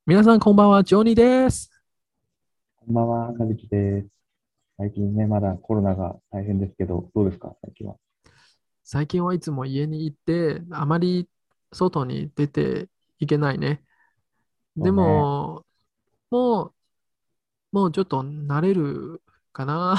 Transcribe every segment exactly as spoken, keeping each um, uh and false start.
皆さんこんばんは、ジョニーです。 こんばんは、かずきです。最近ね、まだコロナが大変ですけど、どうですか、最近は。 最近はいつも家にいて、あまり外に出ていけないね。でそうね。 も、もう、もうちょっと慣れるかな。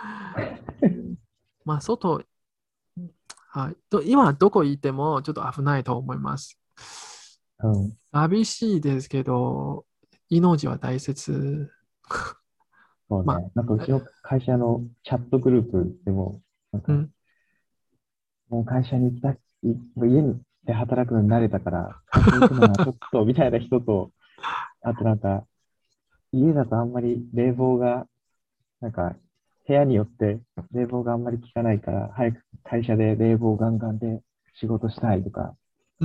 まあ、外、はい、と今どこ行ってもちょっと危ないと思います。 うん。 寂しいですけど、命は大切。まそうね。なんかうあ、 ちの会社のチャットグループでも、なんか、 うん、 もう会社に行きたい、もう家で働くのに慣れたから、会社行くのはちょっと、みたいな人と、あとなんか、家だとあんまり冷房が、なんか、部屋によって冷房があんまり効かないから、早く会社で冷房ガンガンで仕事したいとか、 うん、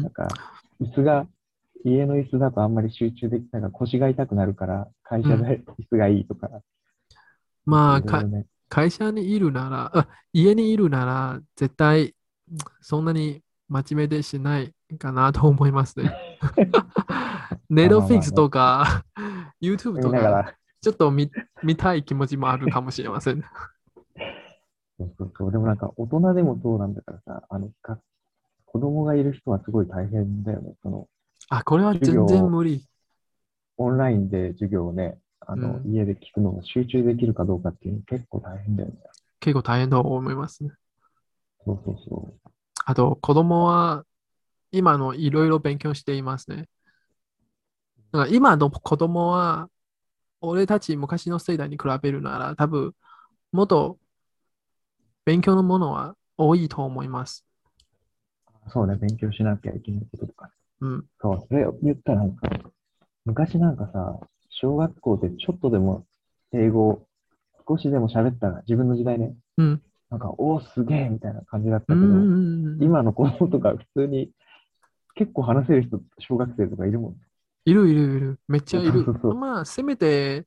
なんか、椅子が、家の椅子だとあんまり集中できないから腰が痛くなるから、会うん。 社で椅子がいいとか、なんかまあ、か、 いろいろね。 会社にいるなら、あ、家にいるなら、絶対、そんなに真面目でしないかなと思いますね。ネッまあトフィックスまあまあね。 とか、YouTube とか、 見ながら、 ちょっと見、見たい気持ちもあるかもしれません。 そうそうそう。でもなんか大人でもそうなんだからさ、あの、か子供がいる人はすごい大変だよね。その、 あ、これは授全然業、 無理。 オンラインで授業をね、あの、 うん、 家で聞くのが集中できるかどうかっていうの結構大変だよね。 結構大変だと思いますね。 そうそうそあと、子供は今のいろいろ勉強していますね。だから今の子供は、俺たち昔の世代に比べるなら、多分、もっと勉強のものは多いと思います。 う。そうね、勉強しなきゃいけないこととかね。 うん。 そう、それを言ったらなんか、昔なんかさ、小学校でちょっとでも英語少しでも喋ったら、自分の時代ね、 うん。 なんか、おお、すげえみたいな感じだっうたけど、 ん。 今の子供とか普通に結構話せる人、小学生とかいるもんね。 いるいるいる。めっちそうゃいる。 そうそう。 まあ、せめて、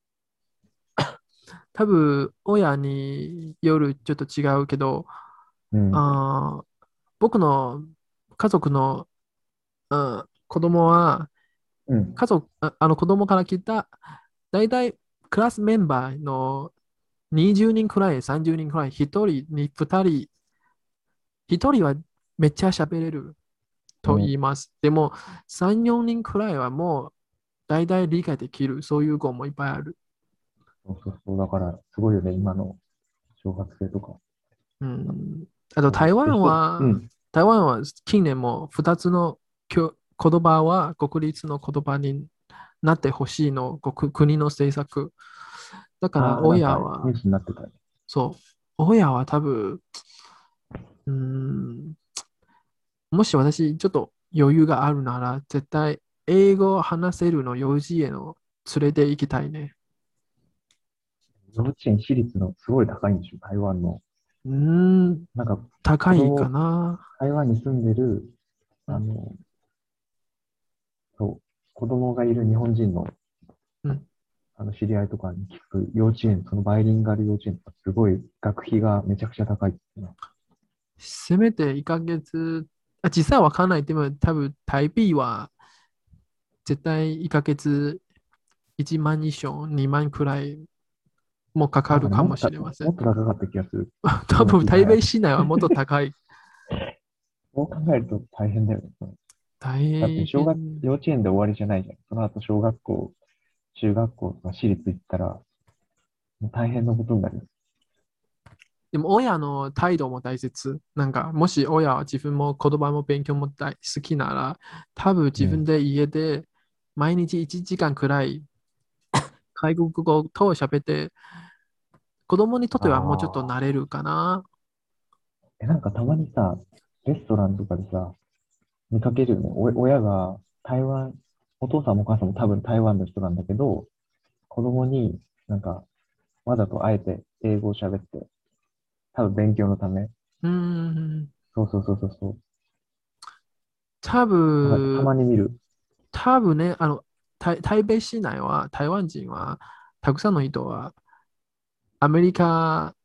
多分、親によるちょっと違うけど、 うん、 あー僕の家族の、うん、子供は、 うん、 家族、あ、あの子供から聞いた、だいたいクラスメンバーのにじゅうにんくらい、さんじゅうにんくらい、ひとりにふたり、ひとりはめっちゃ喋れるとうん。 言います。でも、さん、よにんくらいはもう大体理解できる。そういう子もいっぱいある。 そうそうそう。だから、すごいよね、今の小学生とか。 うん。あと、 そう。で、 台湾一つ、うは、 ん、 台湾は近年もふたつの教言葉は国立の言葉になってほしいの、国国の政策。だからああ、なんか親は、 ニュースになってたね。 そう、親は多分、うん、もし私ちょっと余裕があるなら、絶対英語を話せるの幼稚園を連れて行きたいね。 幼稚園私立のすごい高いんでしょ、台湾の。 うーん、 なんか、 高いか子供、 な。 台湾に住んでる、 うん、 あの、そう、子供がいる日本人のうん。 あの、知り合いとかに聞く幼稚園、そのバイリンガル幼稚園とか、すごい学費がめちゃくちゃ高いってね。 せめていっかげつ、あ、実際はわかんない。でも多分台幣は絶対いっかげついちまん以上、にまんくらいもかかなんかね、 るかももっとた、 しれません。 もっと高かった気がする。 多今分台北聞いた話。 市内はもっと高い。 そう考えると大変だよね。その大だって小学、 変。 幼稚園で終わりじゃないじゃん。その後小学校、中学校とか私立行ったら、もう大変なことになるよ。 でも親の態度も大切。なんか、もし親は自分も言葉も勉強も大好きなら、多分うん。 自分で家で毎日いちじかんくらい外国語と喋って、子供にとってはもうちょっとああ。 慣れるかな。 え、なんかたまにさ、レストランとかでさ、見かけるよね。お、親が台湾、お父さんもお母さんも多分台湾の人なんだけど、子供になんかわざとあえて英語を喋って、多分勉強のため。 うーん。 そうそうそうそうそう。 多たま、た分、 まに見る。 多分ね、あの、台台北市内は、台湾人は、たくさんの人は、アメリカ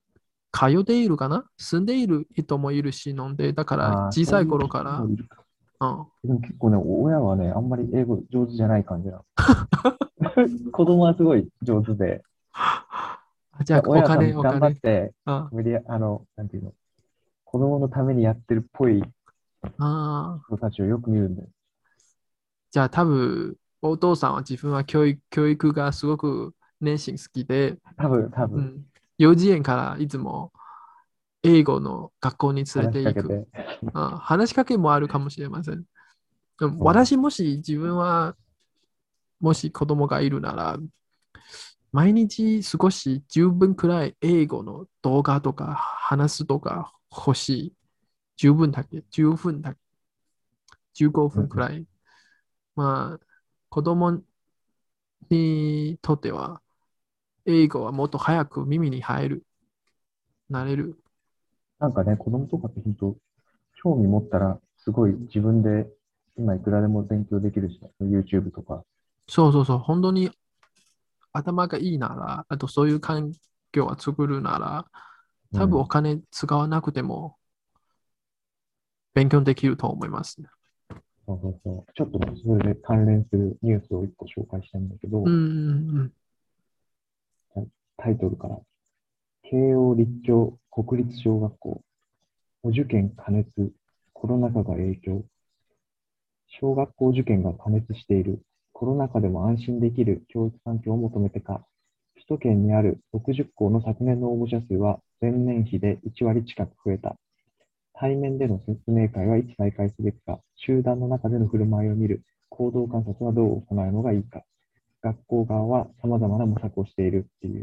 通っているかな住んでいる人もいるし、ので、だからああ、 小さいそういう頃から、 人もいるか。 うん。 でも結構ね、親はね、あんまり英語上手じゃない感じなの。子供はすごい上手で、 あ、じゃあ、お親は多分頑張っ金、お金。 て、 あ無理や、あの、なんていうの、子供のためにやってるっぽいあ。 人たちをよく見るんだよ。 じゃあ、多分、お父さんは自分は教育、教育がすごく熱心好きで、 多分、多分、 うん。幼稚園からいつも英語の学校に連れ話して行く。 かけて。 あ、話しかけもあるかもしれません。でもそ私もし自分はもし子供がいるなら、毎日少しじゅうふんくらい英語の動画とか話すとか欲しい。じゅうふんだけ、じゅうふんだけ、15 う。うんうん。 分くらい。まあ、子供にとっては英語はもっと早く耳に入る、なれる。 なんかね、子供とかって本当、興味持ったら、すごい自分で今いくらでも勉強できるしね、YouTube とか。 そうそうそう、本当に頭がいいなら、あとそういう環境を作るなら、多分おうん。 金使わなくても勉強できると思いますね。 そうそうそう。ちょっとね、それで関連するニュースを一個紹介したいんだけうど、 ん、うん、 タイトルから、慶応立教国立小学校、お受験過熱、コロナ禍が影響。小学校受験が過熱している。コロナ禍でも安心できる教育環境を求めてか。首都圏にあるろくじゅっ校の昨年の応募者数は前年比でいち割近く増えた。対面での説明会はいつ再開すべきか。集団の中での振る舞いを見る。行動観察はどう行うのがいいか。学校側は様々な模索をしているっていう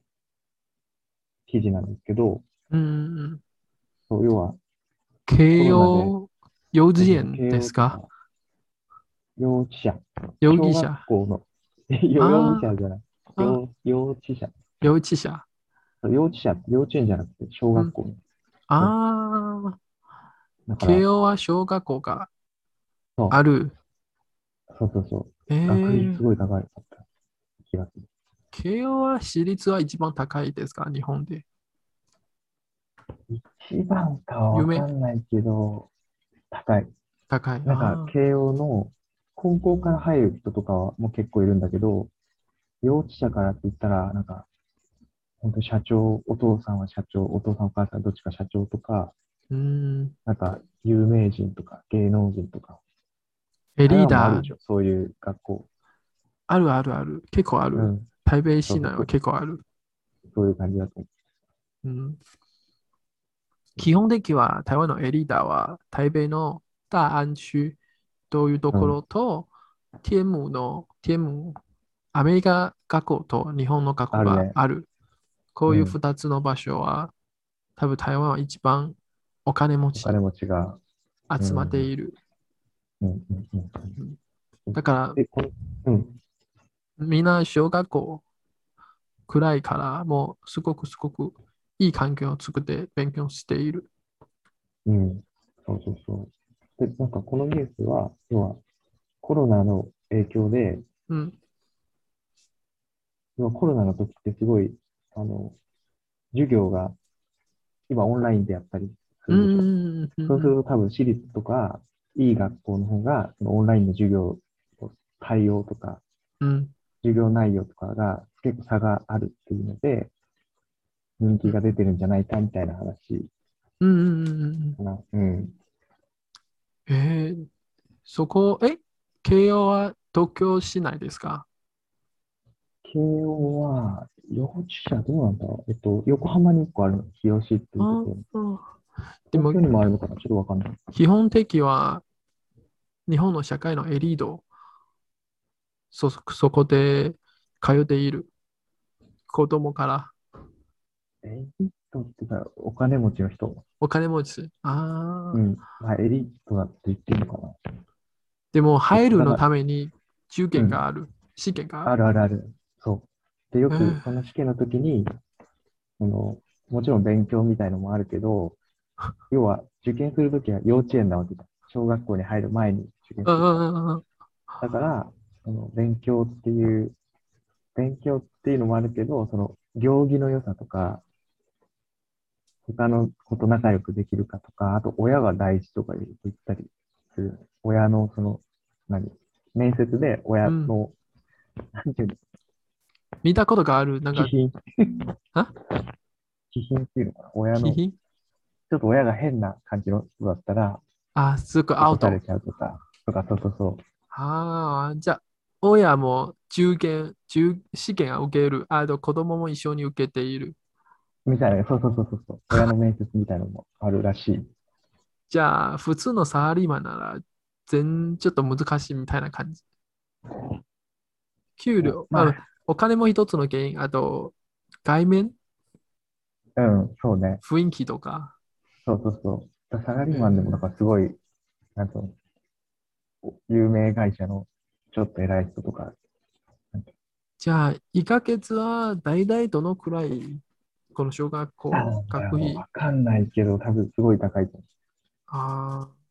記事なんですけど、 うん。うん。 そう要はコ慶ロナで、 応幼稚そうそうそう、 園慶ですか？ 応とか幼稚舎、小学容疑者。 校の、よ容疑あ者じゃない、 あ、あ、 幼幼稚舎、 幼稚者。 幼稚舎、幼稚園じゃなくて小うん。 学校の。そう。 ああ、 だから、 慶応は小学校がそある。 う、そうそうそう。 え学費すー、 ごい高かった気がする。 慶応は私立は一番高いですか日本で？ 一番かは有名わかんないけど、高い。 高い。 なんか、 ああ、 慶応の高校から入る人とかはもう結構いるんだけど、幼稚舎からって言ったら、なんか、本当社長、お父さんは社長、お父さんお母さんどっちか社長とか、 うん。 なんか、有名人とか芸能人とか、 え、 台リーダー、 湾もあるでしょ、そういう学校。 あるあるある。結構ある。 うん。 台北市内はそうそうそう、 結構ある。 そういう感じだと思うん。 う。 基本的には台湾のエリーダーは台北の大安区というとこうん。 ろと、天母の、天母、アメリカ学校と日本の学校あるね。 がある。こういううん。 二つの場所は、多分台湾は一番お金持ちお金持ちが。う集まってん。 いる。 うん。うん。うんうん。 うん。 だからえ、この、うん。 みんな小学校くらいからもうすごくすごくいい環境を作って勉強している。 うん。そうそうそう。で、なんかこのニュースは、要はコロナの影響で、 うん。 要はコロナの時ってすごい、あの、授業が今オンラインでやったりすうるでしょ。 ん。うん。うそうするん。 と多分私立とか、いい学校の方が、そのオンラインの授業の対応とか、 うん。 授業内容とかが結構差があるっていうので、人うん。 気が出てるんじゃないかみたいな話うん。うん。うん。 かな。うん。 えー、そこ、え、慶応は東京市内ですか？ 慶応は、幼稚舎どうなんだろう。えっと、横浜にいっこあるの。日吉っていうところに。 ああ、でも、 東京にもあるのかなちょっとわかんない。 基本的は日本の社会のエリート、そ、そこで通っている子供からエリートっていうか、お金持ちの人。 お金持ち。ああ、 うん。まあ、エリートだって言っていいのかな。 でもえっと、 入るのだから、 ために受うん。 験がある。試験があある。 るあるある。そう。で、よく、 えー、 その試験の時に、その、もちろん勉強みたいのもあるけど、要は、受験するときは幼稚園なわけだ。小学校に入る前に受験うするから。 ん。うん。 だから、その、勉強っていう、勉強っていうのもあるけど、その、行儀の良さとか、他の子と仲良くできるかとか、あと親が大事とか言ったりする。親のその、何面接でうん。 親の、なんていうの、 見たことがある。なんか、 気品、 あ気品っていうのかな。親の、 気品ちょっと親が変な感じの人だったら、 あ、すぐアウト。 落とされちゃうとか、とか、そうそうそう。 ああ、じゃあ、親も中堅、中試験を受ける。あと、子供も一緒に受けている。 みたいな、そうそうそうそうそう。親の面接みたいなのもあるらしい。 じゃあ、普通のサラリーマンなら、全ちょっと難しいみたいな感じ。給料、あ、 まあ、 お金も一つの原因。あと、外面、 うん、そうね。 雰囲気とか。 そうそうそう。サラリーマンでも、なんえーかすごい、なんと、有名会社のちょっと偉い人とか、なんかじゃあ、いっかげつは大体どのくらい、この小学あ校、 いや、 学費。 わかんないけど、多分すごい高いと思ああ、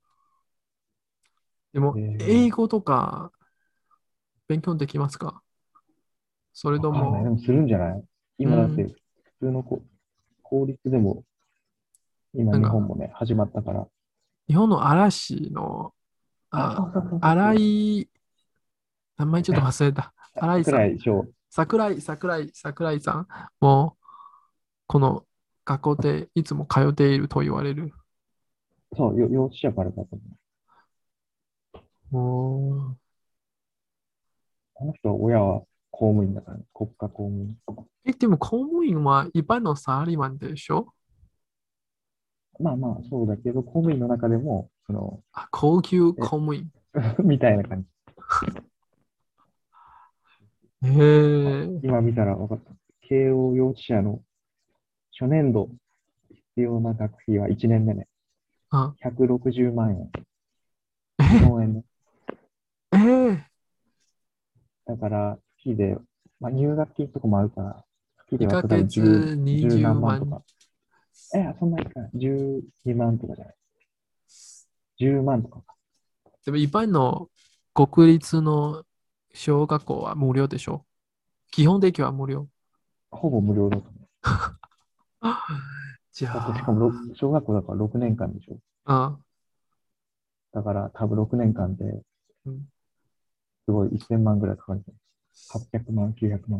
でも、 う。え英語とか勉強できますか？それー、わかんない。でとも、 もするんじゃない？ うん、 今だって、普通のこ公立でも、今なんか、 日本もね、始まったから。 日本の嵐の、 あ、 あ、 そうそうそうそう新そう。 井、名前ちょっと忘れた。新井さん。 桜井翔。 桜井、桜井、桜井さんも、この学校でいつも通っていると言われる。 そう、よ幼稚舎からだと思う。 おーあの人は親は公務員だからね、国家公務員。 え、でも公務員は一般のサラリーマンでしょ？ まあまあ、そうだけど、公務員の中でも、その、 あ、高級え、 公務員。 みたいな感じ。 へあ、 え。 今見たら分かった。慶応幼稚舎の初年度必要な学費はいちねんめね。 あ、 ひゃくろくじゅうまん円。日え、 本円ね。 えー、 だから、月で、まあ、入学金とかもあるから、月で 2 割ると多分ヶ月 10、じゅう 20万。 何万とか。え、そんなにか。じゅうにまんとかじゃない。じゅうまんとかか。 でも一般の国立の小学校は無料でしょ？基本的は無料。 ほぼ無料だと思う。 じゃだってしかもろあ、 小学校だからろくねんかんでしょ。 あ、 だから多分ろくねんかんでうん、 すごいせんまんぐらいかかるんじゃない？ はっぴゃく 万、きゅうひゃくまん。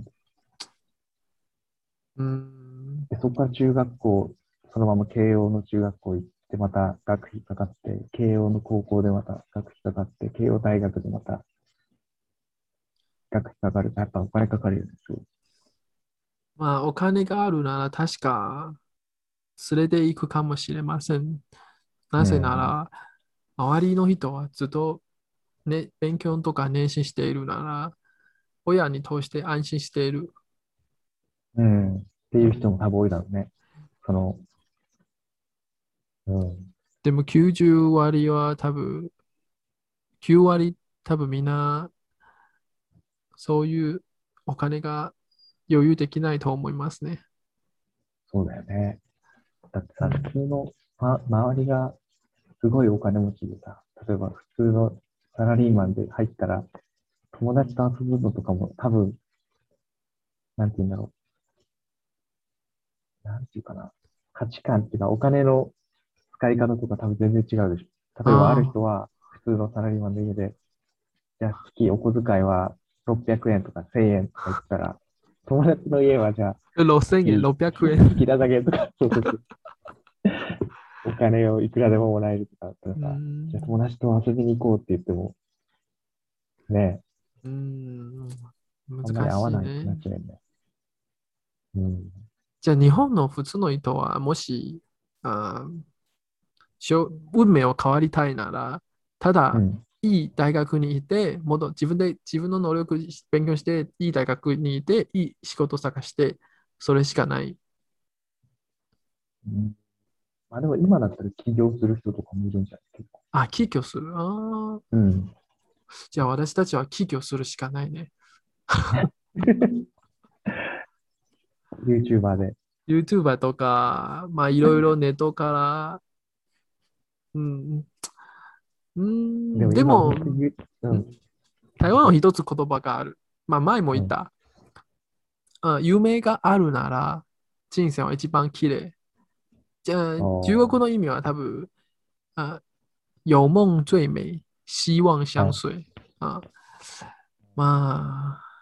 うーん、 で、そこから中学校、そのまま慶応の中学校行って、また学費かかって、慶応の高校でまた学費かかって、慶応大学でまた学費かかる。やっぱお金かかるよね。そう。 まあ、お金があるなら確か連れて行くかもしれません。なぜなうん。 ら、周りの人はずっと、ね、勉強とか熱心しているなら、親に通して安心している。 うん。っていう人も多分多いだろうね。その、うん。 でもきゅうじゅう割は多分、きゅう割多分みんなそういうお金が余裕できないと思いますね。 そうだよね。だってさ、 うん。 普通の、ま、周りがすごいお金持ちでさ、例えば普通のサラリーマンで入ったら、友達と遊ぶのとかも多分、なんて言うんだろう。なんていうかな。価値観っていうか、お金の使い方とか多分全然違うでしょ。例えばあるあ人は、普通のサラリーマンの家で、じゃあ月お小遣いはろっぴゃくえんとかせんえんとか言ったら、友達の家はじゃああ、ろっせんえん、 月、 ろっぴゃくえん。 月だけとか、そうそうそう。お金をいくらでももらえるとかだったらうーさ、じゃあ友ん。 達と遊びに行こうって言っても、ね、 うーん。 あんまり難合わないってなしいね。 っちゃうんだよ。うん。 じゃあ日本の普通の人はもし、あしょ運命を変わりたいなら、ただうん。 いい大学にいて、もっと自分で自分の能力勉強して、いい大学にいて、いい仕事探して、それしかない。 うん、まあでも今だったら起業する人とかもいるんじゃない？結構。 あ、起業する。ああ、 うん。 じゃあ私たちは起業するしかないね。 YouTuber で。 YouTuber とか、まあいろいろネットから、うん、うん、 でもでも、 今僕、ゆうんん。 台湾は一つ言葉がある。まあ前もうん。 言った。あ、夢があるなら人生は一番綺麗。じゃあ、中国おー。 の意味は多分、あ、 有梦最美，希望はい。 相随啊。まあ、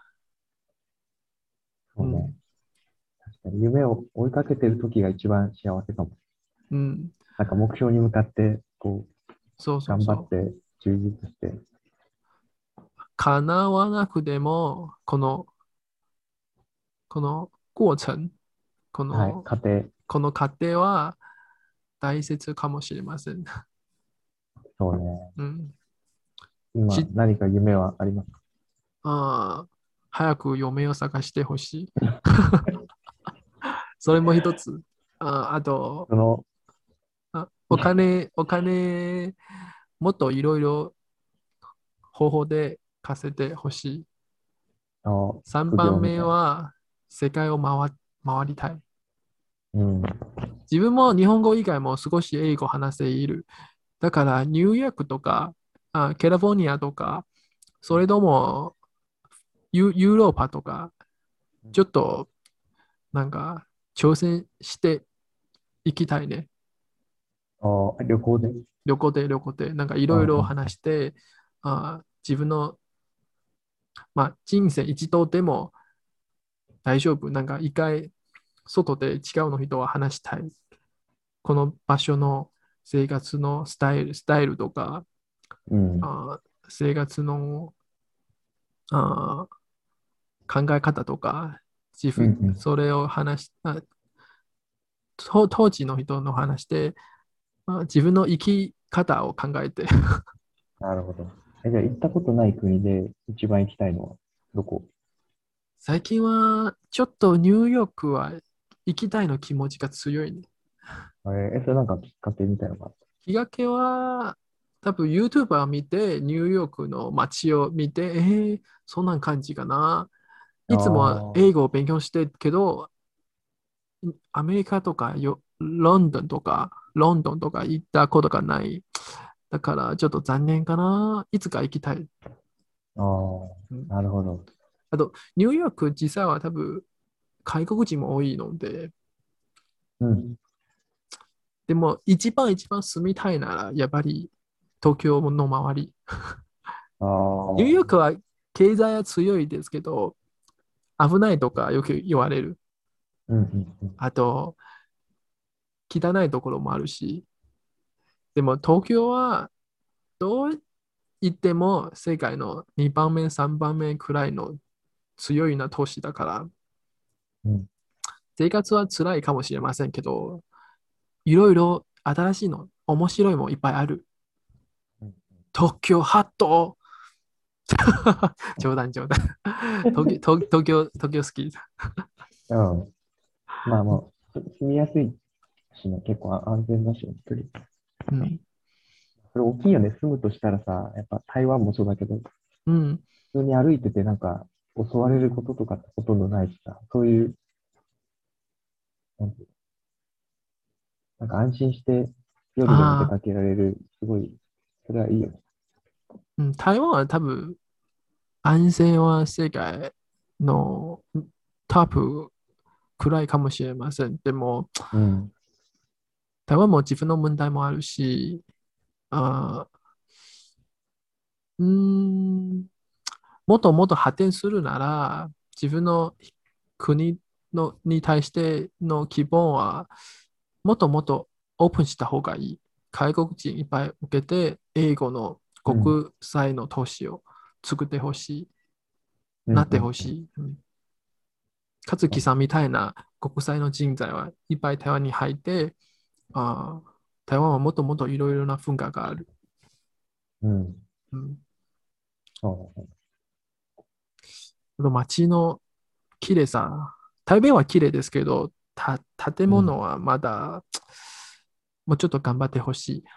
うそうね。 ん、 確かに夢を追いかけてる時が一番幸せかも。 うん、 なんか目標に向かって、こう、 そうそう頑張そう。 って充実して、 叶わなくても、この、この過程、こはい、 の、 家庭、 この過程は大切かもしれません。 そうね。 うん。 今、 し、 何か夢はありますか？ あー、早く嫁を探してほしい。それも一つ。あ、あと、 その、 あ、お金、お金、もっといろいろ方法で稼いでほしい。 あの、 3 副番目業みたいな。 は世界を回、回りたい。 うん。 自分も日本語以外も少し英語を話せいる。だからニューヨークとか、あ、カリフォルニアとか、それともユ、ユーロッパとか、ちょっとなんか挑戦していきたいね。 ああ、旅行で。 旅行で旅行で、なんかいろいろうんうん。 話して、あ、自分の、まあ、人生一度でも大丈夫。なんか一回外で違うの人は話したい。この場所の生活のスタイル、スタイルとか、 うん。 あ、生活のあ考え方とか、自分、 うんうん。 それを話し、あ、当当時の人の話で、あ、自分の生き方を考えて、 なるほど。え、じゃあ行ったことない国で一番行きたいのはどこ？ 最近はちょっとニューヨークは行きたいの気持ちが強いね。 えーえ、それなんかきっかけみたいなのがあっきっかけは、多分 YouTuber を見て、ニューヨークの街を見て、えー、そんな感じかな。 た？あいつもあ、 英語を勉強してるけど、アメリカとかよ、ロンドンとか、ロンドンとか行ったことがない。だからちょっと残念かな。いつか行きたい。 ああ、 うん、 なるほど。 あと、ニューヨーク実際は多分外国人も多いので、 うん。 でも一番一番住みたいなら、やっぱり東京の周り。 ああ、 ニューヨークは経済は強いですけど、危ないとかよく言われる。 うんうんうん。 あと、汚いところもあるし、でも東京はどう言っても世界のにばんめ、さんばんめくらいの強いな都市だから、 うん。 生活は辛いかもしれませんけど、いろいろ新しいの、面白いもいっぱいある。 うん。 東京ハット冗談冗談。東京、東東京、東京好き。 うん。まあまあ、す住みやすいしね、結構あ安全だし、本当に。 うん。 それ大きいよね。住むとしたらさ、やっぱ台湾もそうだけど、 うん。 普通に歩いててなんか襲われることとかってほとんどないしさ、そういう、なんていうのなんか安心して夜でも出ああ、 かけられる、すごい、それはいいよね。 うん、台湾は多分安全は世界のトップくらいかもしれません。でも、 うん。 台湾も自分の問題もあるし、あー、うーん、もっともっと発展するなら、自分の国のに対しての希望は、もっともっとオープンした方がいい。外国人いっぱい受けて、英語のうん。 国際の都市を作ってほしい、 うん。 なってうん。うん。 ほしい。うん、勝そうね。 木さんみたいな国際の人材はいっぱい台湾に入って、あー、台湾はもっともっといろいろな文化がある。 うん。 うん、 そうね。 あと街の綺麗さ。台北は綺麗ですけど、た建うん。 物はまだもうちょっと頑張ってほしい。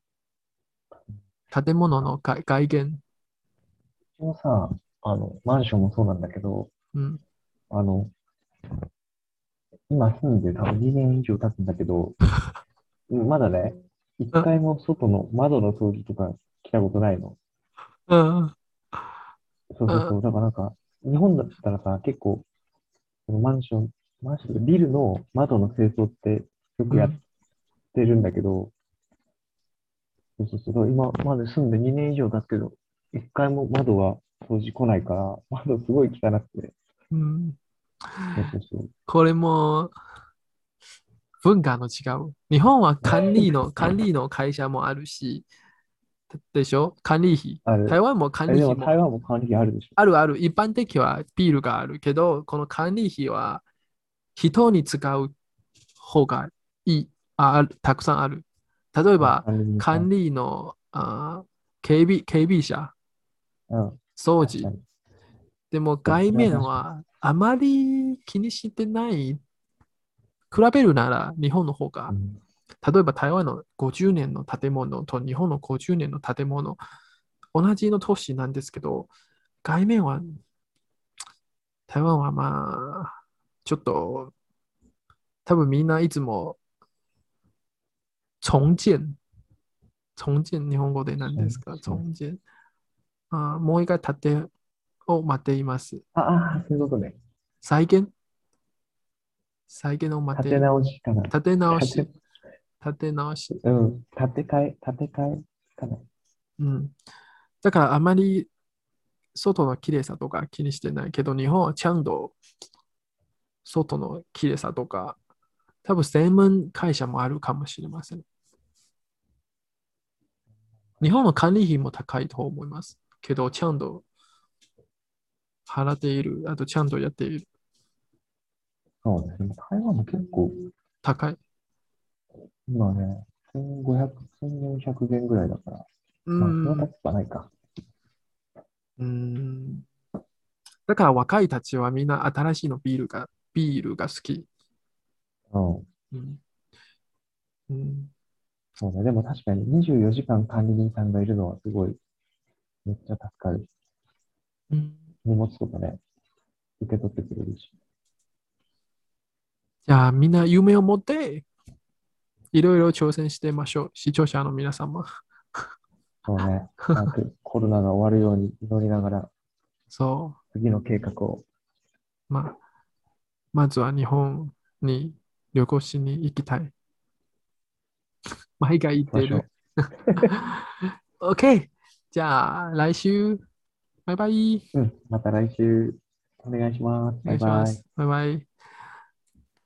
建物の外外見。 うちのさ、あの、マンションもそうなんだけど、 うん。 あの、今住んで多分にねん以上経つんだけど、うんまだね、一あ、 回も外の窓の掃除とか来たことないの。 あ、あ、 そうそうそう。だからなんか、日本だったらさ、結構、そのマンション、マンションとかビルの窓の清掃ってよくやっうん。 てるんだけど、 そうそうそう。今まで住んでにねん以上経つけど、一回も窓が掃除来ないから、窓すごい汚くて。 うん。 そうそうそう。 これも文化の違う。日本は管理の、管理の会社もあるし、でしょ管理費。 ある。 台湾も管え、でも台理費も湾も管理費あるでしょ。 あるある。一般的はビールがあるけど、この管理費は人に使う方がいい、あ、あるたくさんある。例えあ、 ば、 管理人さん。 管理のあ警備、警備者、 うん。 掃除。 確かに。 でもそう、 外それは確かに。 面はあまり気にしてない。比べるなら日本の方が、 うん。 例えば台湾のごじゅうねんの建物と日本のごじゅうねんの建物、同じの都市なんですけど、外面は、台湾はまあ、ちょっと、多分みんないつも重建、重建、日本語で何そうですかそう。 重建。あ、もう一回建てを待っています。 ああ、そういうことね。 再建再建を待っている。 立て直しかな。 建て直立て、 し、建て直し。 うん。建て替え、建て替えかな。 うん。だからあまり外の綺麗さとか気にしてないけど、日本はちゃんと外の綺麗さとか、多分専門会社もあるかもしれません。日本の管理費も高いと思います。けど、ちゃんと払っている。あと、ちゃんとやっている。 そうね。でも台湾も結構、 高い。 今ね、せんごひゃく、せんよんひゃくえんぐらいだから。 うーまあ、そのん。 高くはないか。 うーん。だから若いたちはみんな新しいのビールが、ビールが好き。 うん。 うん。うん。 そうね。でも確かににじゅうよじかん管理人さんがいるのはすごい、めっちゃ助かる。 うん、 荷物とかね、受け取ってくれるし。 じゃあ、みんな夢を持って、いろいろ挑戦してみましょう。視聴者の皆様。 そうね。早くコロナが終わるように祈りながら、 そ次の計画をう。まあ、まずは日本に旅行しに行きたい。毎回言ってる。 しましょ OK。じゃあ、来週。バイバイ。 う。うん。また来週お願いします。 お願バイバイ。 いします。バイバイ。